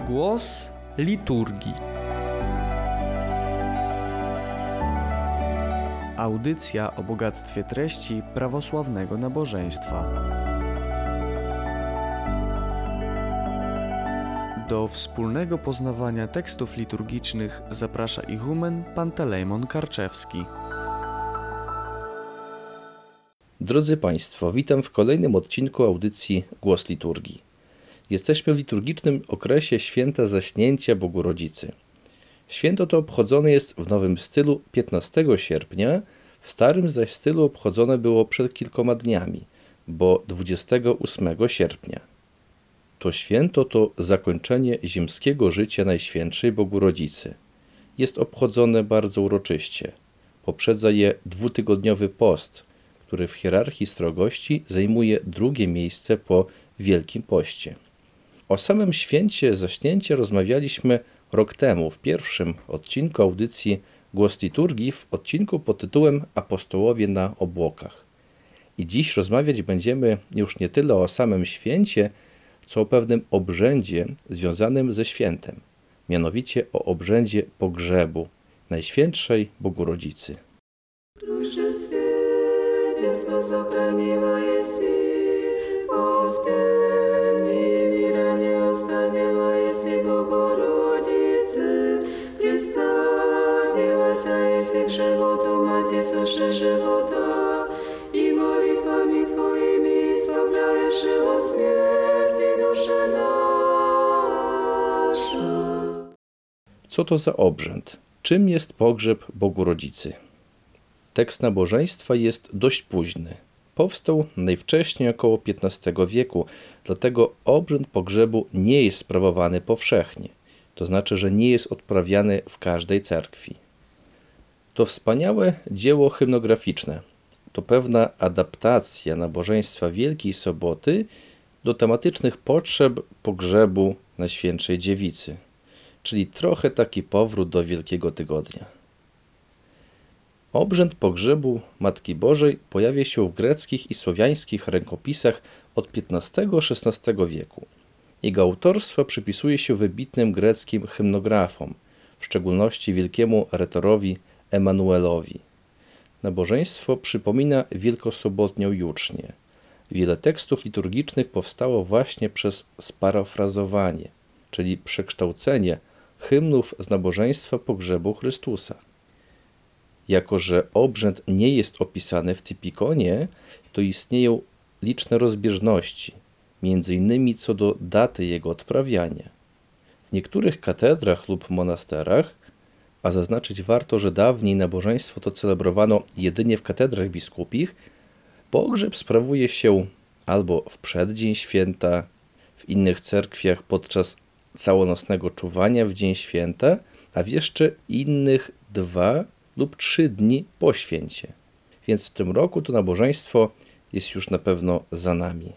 Głos liturgii. Audycja o bogactwie treści prawosławnego nabożeństwa. Do wspólnego poznawania tekstów liturgicznych zaprasza ichumen Pantelejmon Karczewski. Drodzy Państwo, witam w kolejnym odcinku audycji Głos Liturgii. Jesteśmy w liturgicznym okresie święta Zaśnięcia Bogu Rodzicy. Święto to obchodzone jest w nowym stylu 15 sierpnia, w starym zaś stylu obchodzone było przed kilkoma dniami, bo 28 sierpnia. To święto to zakończenie ziemskiego życia Najświętszej Bogu Rodzicy. Jest obchodzone bardzo uroczyście. Poprzedza je dwutygodniowy post, który w hierarchii strogości zajmuje drugie miejsce po Wielkim Poście. O samym święcie Zaśnięcia rozmawialiśmy rok temu w pierwszym odcinku audycji Głos Liturgii, w odcinku pod tytułem Apostołowie na obłokach. I dziś rozmawiać będziemy już nie tyle o samym święcie, co o pewnym obrzędzie związanym ze świętem, mianowicie o obrzędzie pogrzebu Najświętszej Bogu Rodzicy. Co to za obrzęd? Czym jest pogrzeb Bogu Rodzicy? Tekst nabożeństwa jest dość późny. Powstał najwcześniej około XV wieku, dlatego obrzęd pogrzebu nie jest sprawowany powszechnie. To znaczy, że nie jest odprawiany w każdej cerkwi. To wspaniałe dzieło hymnograficzne. To pewna adaptacja nabożeństwa Wielkiej Soboty do tematycznych potrzeb pogrzebu Najświętszej Dziewicy, czyli trochę taki powrót do Wielkiego Tygodnia. Obrzęd pogrzebu Matki Bożej pojawia się w greckich i słowiańskich rękopisach od XV-XVI wieku. Jego autorstwo przypisuje się wybitnym greckim hymnografom, w szczególności wielkiemu retorowi Emanuelowi. Nabożeństwo przypomina wielkosobotnią jucznię. Wiele tekstów liturgicznych powstało właśnie przez sparafrazowanie, czyli przekształcenie hymnów z nabożeństwa pogrzebu Chrystusa. Jako że obrzęd nie jest opisany w typikonie, to istnieją liczne rozbieżności, między innymi co do daty jego odprawiania. W niektórych katedrach lub monasterach, a zaznaczyć warto, że dawniej nabożeństwo to celebrowano jedynie w katedrach biskupich, pogrzeb sprawuje się albo w przeddzień święta, w innych cerkwiach podczas całonocnego czuwania w dzień święta, a w jeszcze innych 2 lub 3 dni po święcie. Więc w tym roku to nabożeństwo jest już na pewno za nami.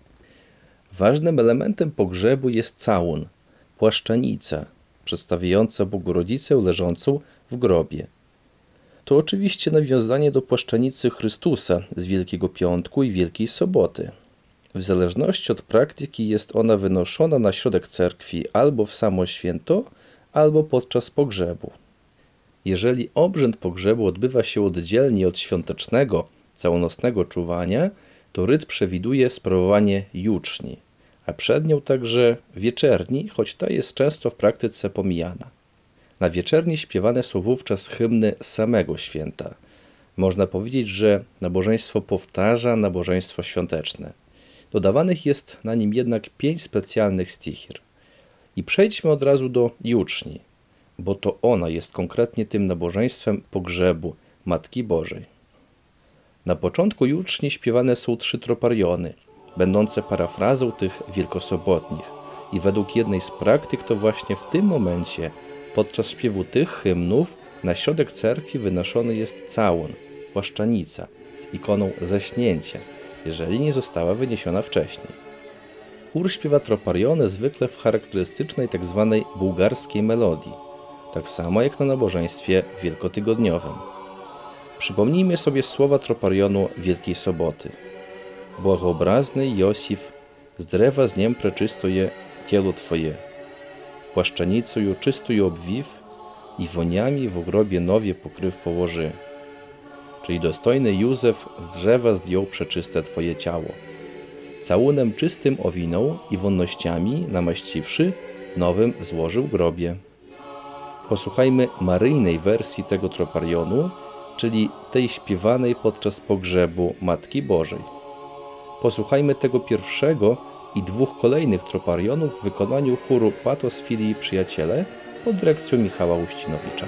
Ważnym elementem pogrzebu jest całun, płaszczanica, przedstawiająca Bogu Rodzicę leżącą w grobie. To oczywiście nawiązanie do płaszczanicy Chrystusa z Wielkiego Piątku i Wielkiej Soboty. W zależności od praktyki jest ona wynoszona na środek cerkwi albo w samo święto, albo podczas pogrzebu. Jeżeli obrzęd pogrzebu odbywa się oddzielnie od świątecznego, całonocnego czuwania, to ryt przewiduje sprawowanie juczni, a przed nią także wieczerni, choć ta jest często w praktyce pomijana. Na wieczerni śpiewane są wówczas hymny samego święta. Można powiedzieć, że nabożeństwo powtarza nabożeństwo świąteczne. Dodawanych jest na nim jednak 5 specjalnych stichir. I przejdźmy od razu do juczni, bo to ona jest konkretnie tym nabożeństwem pogrzebu Matki Bożej. Na początku juczni śpiewane są 3 tropariony, będące parafrazą tych wielkosobotnich. I według jednej z praktyk to właśnie w tym momencie, podczas śpiewu tych hymnów, na środek cerkwi wynoszony jest całun, płaszczanica z ikoną zaśnięcia, jeżeli nie została wyniesiona wcześniej. Chór śpiewa tropariony zwykle w charakterystycznej tzw. bułgarskiej melodii, tak samo jak na nabożeństwie wielkotygodniowym. Przypomnijmy sobie słowa troparionu Wielkiej Soboty. Błogobrazny Josif, z drewa z niem preczystoje ciało Twoje. płaszczenicою czystую obwiw i woniami w grobie nowie pokryw położy. Czyli dostojny Józef z drzewa zdjął przeczyste Twoje ciało. Całunem czystym owinął i wonnościami namaściwszy, w nowym złożył grobie. Posłuchajmy maryjnej wersji tego troparionu, czyli tej śpiewanej podczas pogrzebu Matki Bożej. Posłuchajmy tego pierwszego i dwóch kolejnych troparionów w wykonaniu chóru Patos Filii Przyjaciele pod dyrekcją Michała Uścinowicza.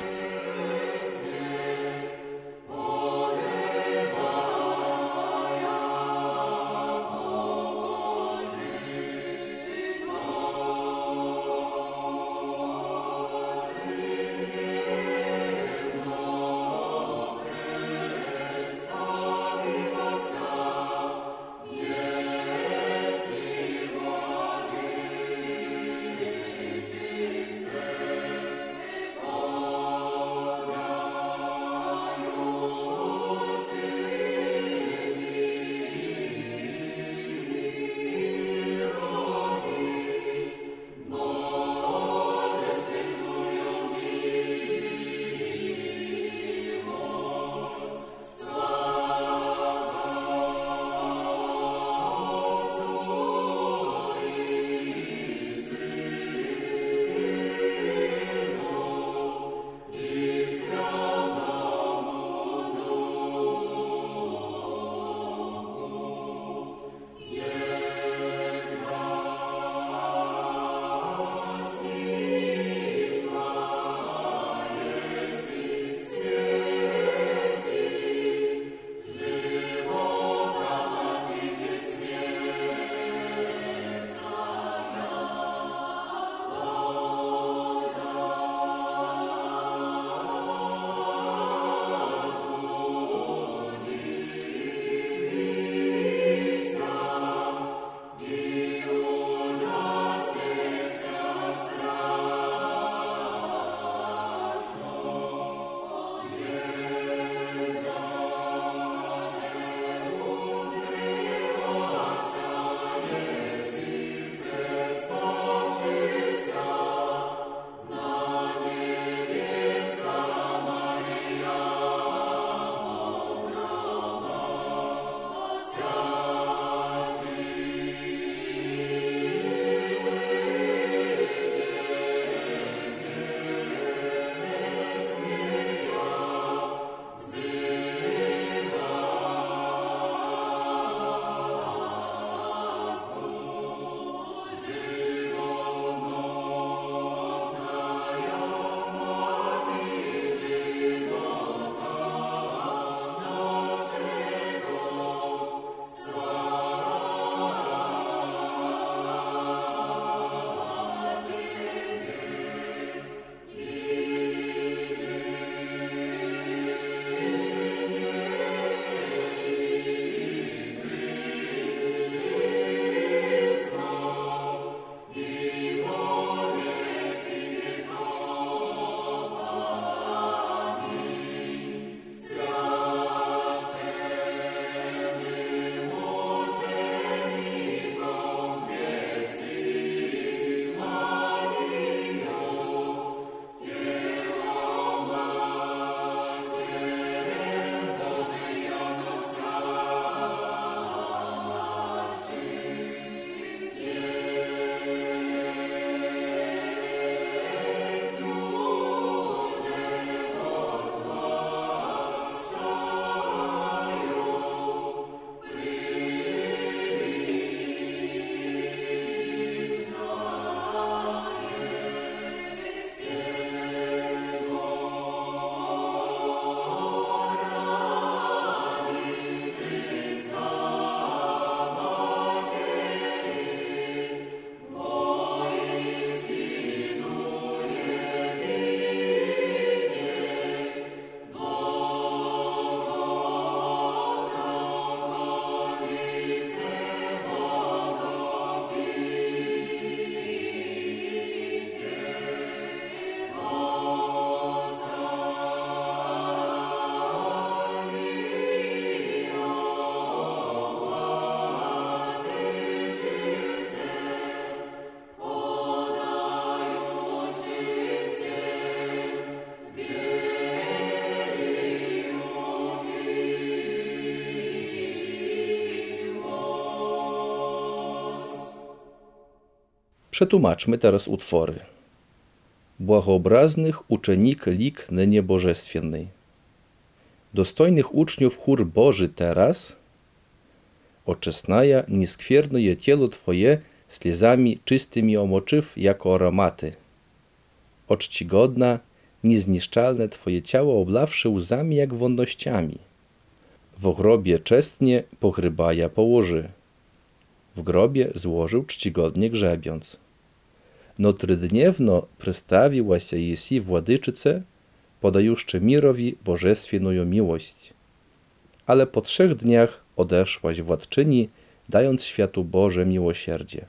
Przetłumaczmy teraz utwory. Błagoobraznych uczennik lik nynie bożestwiennej. Dostojnych uczniów chór Boży teraz. Oczesnaja, nieskwiernuje cielo Twoje slezami czystymi omoczyw jako aromaty. Oczcigodna, niezniszczalne Twoje ciało oblawszy łzami jak wonnościami. W grobie czestnie pochrybaja położy. W grobie złożył czcigodnie grzebiąc. No trydniewno przystawiła się jesi władyczyce, podajuszcze mirowi bożestwienną miłość. Ale po 3 dniach odeszłaś władczyni, dając światu Boże miłosierdzie.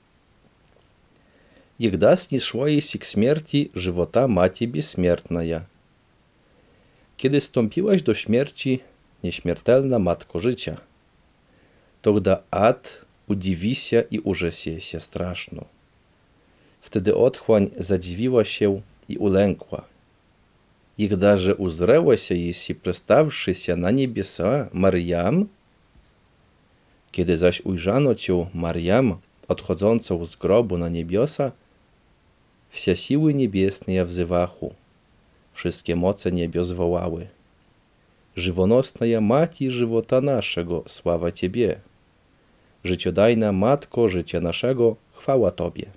Jegda zniszła jesi k śmierci żywota Macie Bezśmiertnaja. Kiedy stąpiłaś do śmierci, nieśmiertelna Matko życia, тогда ad udziwisia i urzesje się straszno. Wtedy otchłań zadziwiła się i ulękła. Jegda że uzręła się jesi przestawszy się na niebiesa Mariam, kiedy zaś ujrzano cię Mariam, odchodzącą z grobu na niebiosa, wsie siły niebiesne wzywachu, wszystkie moce niebios wołały. Żywonosna Mati żywota naszego, sława Ciebie. Życiodajna Matko życia naszego, chwała Tobie.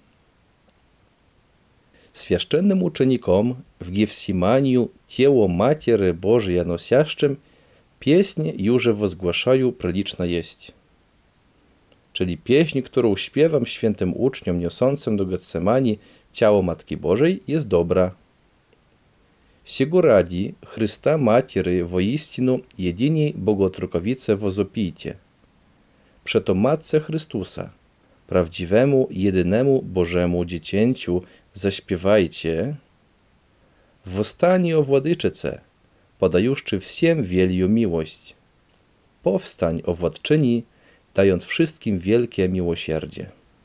Świeszczennym uczenikom w Gefsimaniu ciało Matiery Bożej nosiaszczym pieśń już wozgłaszają preliczna jest. Czyli pieśń, którą śpiewam świętym uczniom niosącym do Getsemani ciało Matki Bożej jest dobra. Сего ради Христа Матери воистину едиnej Bogotrukowice возопійте. Przeto Matce Chrystusa, prawdziwemu, jedynemu Bożemu Dziecięciu zaśpiewajcie. Wostanie o Władyczyce, podajuszczy всем wielju miłość. Powstań o Władczyni, dając wszystkim wielkie miłosierdzie.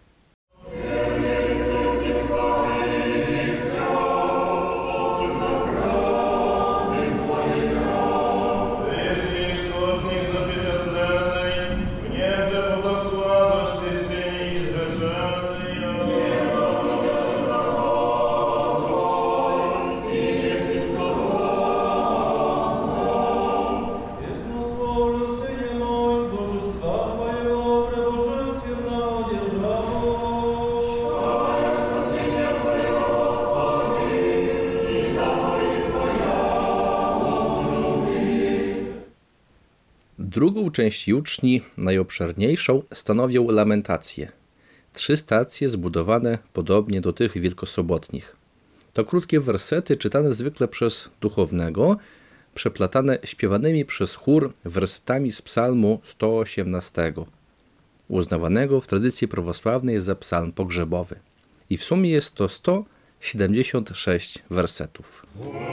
Drugą część juczni, najobszerniejszą, stanowią lamentacje. 3 stacje zbudowane podobnie do tych wielkosobotnich. To krótkie wersety czytane zwykle przez duchownego, przeplatane śpiewanymi przez chór wersetami z psalmu 118, uznawanego w tradycji prawosławnej za psalm pogrzebowy. I w sumie jest to 176 wersetów.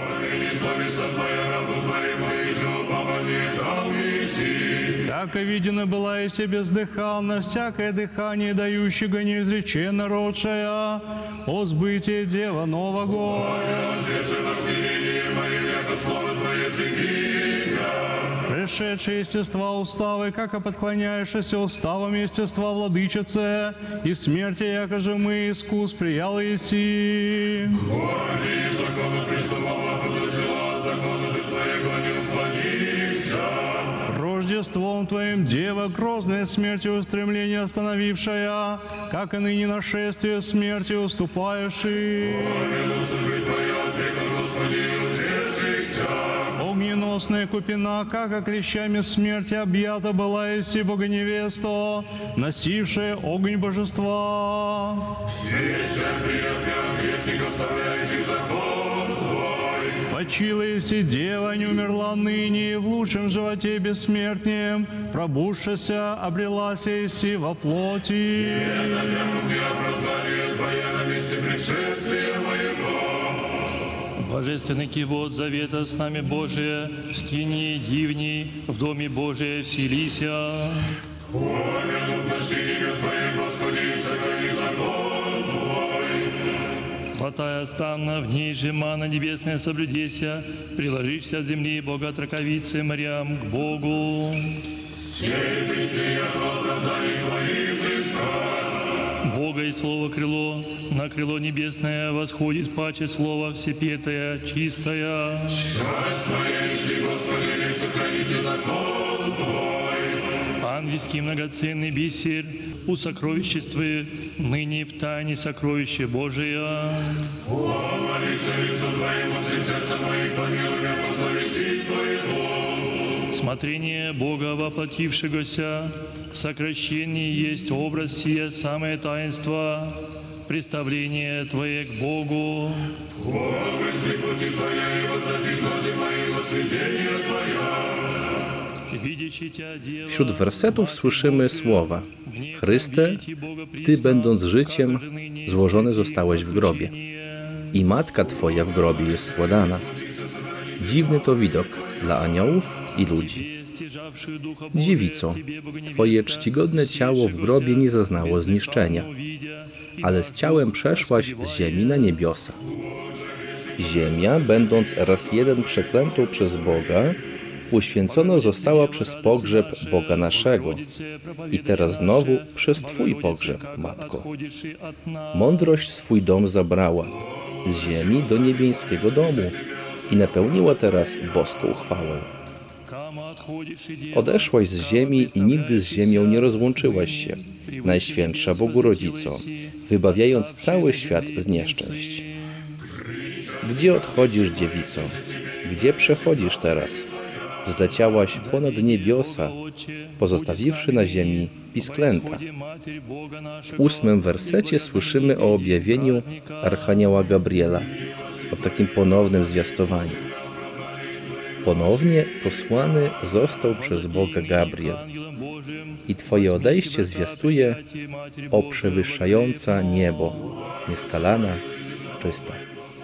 Яко видено была и себе бездыханно, всякое дыхание дающего неизреченно родшая, о сбытие Дева Нового. Пришедшие естества уставы, как подклоняешься уставам естества владычице, и смерти, яко же мы искус приял еси. Горди закону приступала, подозрела от закона же твоего не уклонися. Рождеством Твоим, Дева, грозная смертью устремление остановившая, как и ныне нашествие смерти уступающий. Огненосная купина, как клещами смерти объята была еси Богоневесто, носившая огонь божества. Почила еси Дева, не умерла ныне, в лучшем животе бессмертнем, пробудшася, обрелася еси во плоти. Божественный кивот завета с нами Божие, в скинии дивней, в доме Божие вселися. Помянут наше имя Твое, Господи, сохрани закон Твой. Хватая станна, в ней же мана небесная соблюдеся, приложишься от земли Бога Траковицы Мариам к Богу. Сей быстрее оправданий Твоих взыскать. Бога Бога и Слово крыло, на крыло небесное восходит паче Слово всепетое, чистое. Часть Твоей, Господи, сохраните закон Твой. Ангельский многоценный бисер, у сокровиществе, ныне в тайне сокровище Божие. Помолися лицу Твоему, всем сердцем моим, помилуй меня по совести Твоему. Смотрение Бога воплотившегося, сокращение есть образ сия самое таинство, представление Твое к Богу. Помысли пути Твоя и возврати глаза мои во свидетение Твоя. Wśród wersetów słyszymy słowa: Chryste, Ty będąc życiem, złożony zostałeś w grobie i Matka Twoja w grobie jest składana. Dziwny to widok dla aniołów i ludzi. Dziewico, Twoje czcigodne ciało w grobie nie zaznało zniszczenia, ale z ciałem przeszłaś z ziemi na niebiosa. Ziemia, będąc raz jeden przeklętą przez Boga, uświęcona została przez pogrzeb Boga naszego i teraz znowu przez Twój pogrzeb, Matko. Mądrość swój dom zabrała z ziemi do niebieskiego domu i napełniła teraz boską chwałę. Odeszłaś z ziemi i nigdy z ziemią nie rozłączyłaś się, Najświętsza Bogu Rodzico, wybawiając cały świat z nieszczęść. Gdzie odchodzisz, dziewico? Gdzie przechodzisz teraz? Zleciałaś ponad niebiosa, pozostawiwszy na ziemi pisklęta. W 8 wersecie słyszymy o objawieniu Archanioła Gabriela, o takim ponownym zwiastowaniu. Ponownie posłany został przez Boga Gabriel i Twoje odejście zwiastuje o przewyższająca niebo, nieskalana, czysta.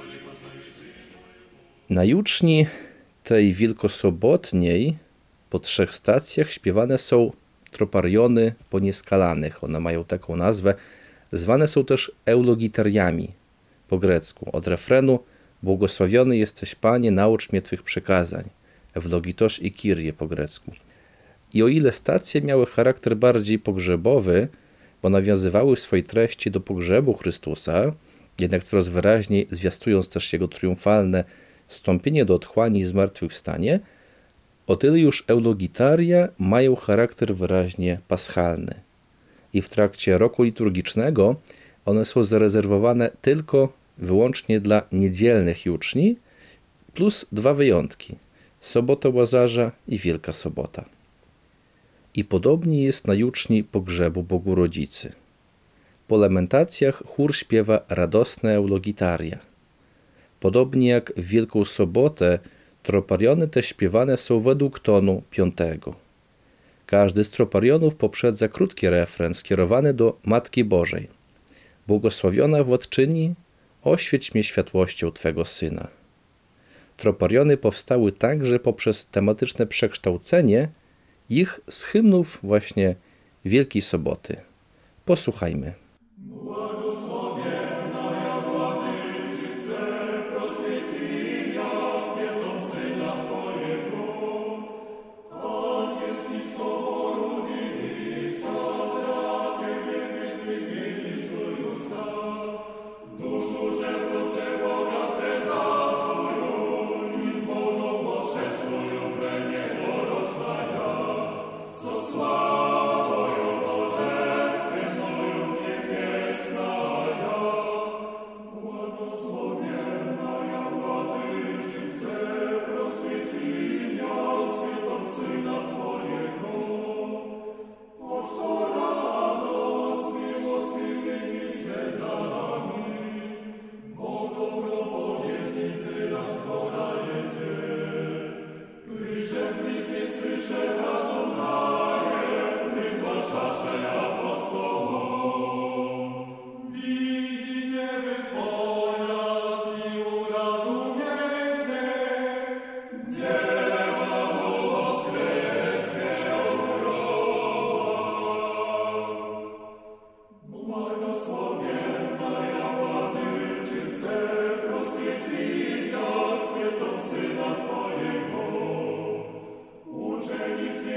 Na juczni tej wielkosobotniej po 3 stacjach śpiewane są tropariony po nieskalanych. One mają taką nazwę. Zwane są też eulogitariami po grecku. Od refrenu: błogosławiony jesteś Panie, naucz mnie Twych przykazań. Eulogitosz i Kyrie po grecku. I o ile stacje miały charakter bardziej pogrzebowy, bo nawiązywały w swojej treści do pogrzebu Chrystusa, jednak coraz wyraźniej zwiastując też Jego triumfalne wstąpienie do otchłani i zmartwychwstanie, o tyle już eulogitaria mają charakter wyraźnie paschalny. I w trakcie roku liturgicznego one są zarezerwowane tylko wyłącznie dla niedzielnych juczni, plus 2 wyjątki: Sobota Łazarza i Wielka Sobota. I podobnie jest na juczni pogrzebu Bogu Rodzicy. Po lamentacjach chór śpiewa radosne eulogitaria. Podobnie jak w Wielką Sobotę, tropariony te śpiewane są według tonu 5. Każdy z troparionów poprzedza krótki refren skierowany do Matki Bożej. Błogosławiona Władczyni, oświeć mnie światłością Twego Syna. Tropariony powstały także poprzez tematyczne przekształcenie ich z hymnów właśnie Wielkiej Soboty. Posłuchajmy. Uczennik nie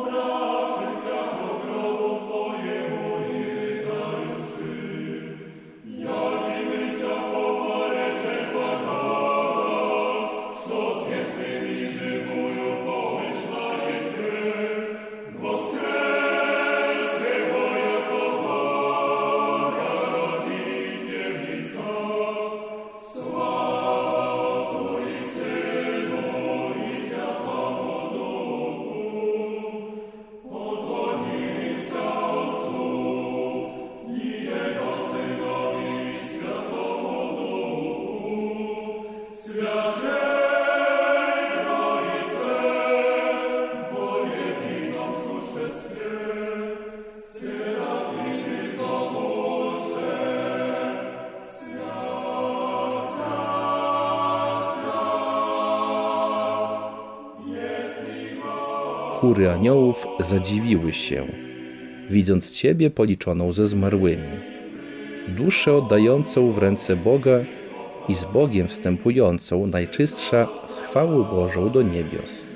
Chóry aniołów zadziwiły się, widząc Ciebie policzoną ze zmarłymi, duszę oddającą w ręce Boga i z Bogiem wstępującą najczystsza z chwałą Bożą do niebios.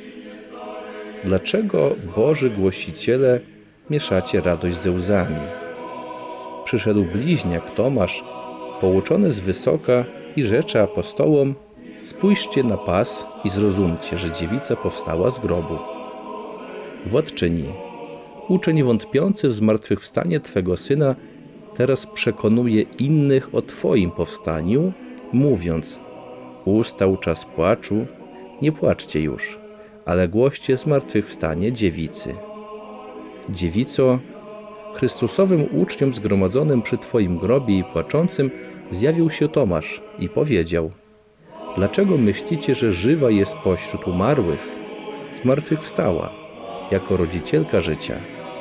Dlaczego, Boży głosiciele, mieszacie radość ze łzami? Przyszedł bliźniak Tomasz, pouczony z wysoka i rzecze apostołom: spójrzcie na pas i zrozumcie, że dziewica powstała z grobu. Władczyni, uczeń wątpiący w zmartwychwstanie Twego Syna teraz przekonuje innych o Twoim powstaniu, mówiąc: ustał czas płaczu, nie płaczcie już, ale głoście zmartwychwstanie dziewicy. Dziewico, Chrystusowym uczniom zgromadzonym przy Twoim grobie i płaczącym zjawił się Tomasz i powiedział: dlaczego myślicie, że żywa jest pośród umarłych? Zmartwychwstała, jako rodzicielka życia.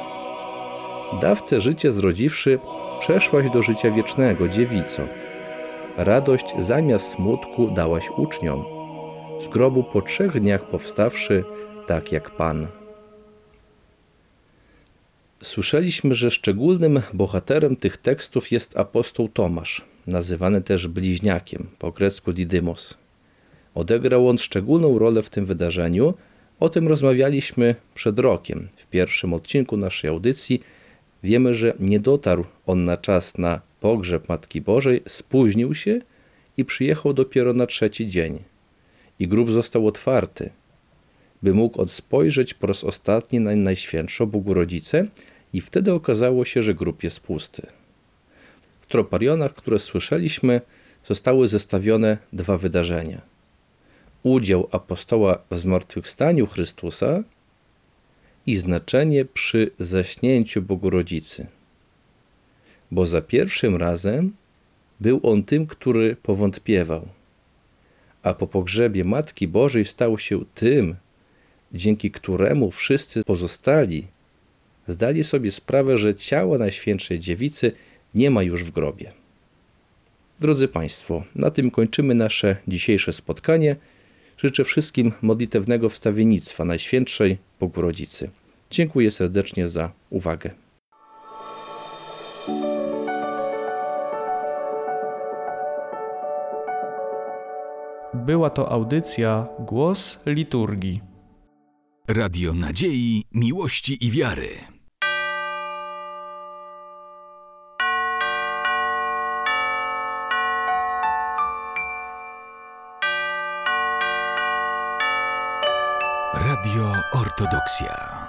Dawcę życia zrodziwszy, przeszłaś do życia wiecznego, dziewico. Radość zamiast smutku dałaś uczniom, z grobu po 3 dniach powstawszy, tak jak Pan. Słyszeliśmy, że szczególnym bohaterem tych tekstów jest apostoł Tomasz, nazywany też bliźniakiem, po grecku Didymos. Odegrał on szczególną rolę w tym wydarzeniu. O tym rozmawialiśmy przed rokiem. W pierwszym odcinku naszej audycji wiemy, że nie dotarł on na czas na pogrzeb Matki Bożej, spóźnił się i przyjechał dopiero na 3. dzień. I grób został otwarty, by mógł spojrzeć po raz ostatni na Najświętszą Bogorodzicę i wtedy okazało się, że grób jest pusty. W troparionach, które słyszeliśmy, zostały zestawione 2 wydarzenia. Udział apostoła w zmartwychwstaniu Chrystusa i znaczenie przy zaśnięciu Bogorodzicy. Bo za pierwszym razem był on tym, który powątpiewał, a po pogrzebie Matki Bożej stał się tym, dzięki któremu wszyscy pozostali zdali sobie sprawę, że ciała Najświętszej Dziewicy nie ma już w grobie. Drodzy Państwo, na tym kończymy nasze dzisiejsze spotkanie. Życzę wszystkim modlitewnego wstawiennictwa Najświętszej Bogorodzicy. Dziękuję serdecznie za uwagę. Była to audycja Głos Liturgii. Radio Nadziei, Miłości i Wiary. Radio Ortodoksja.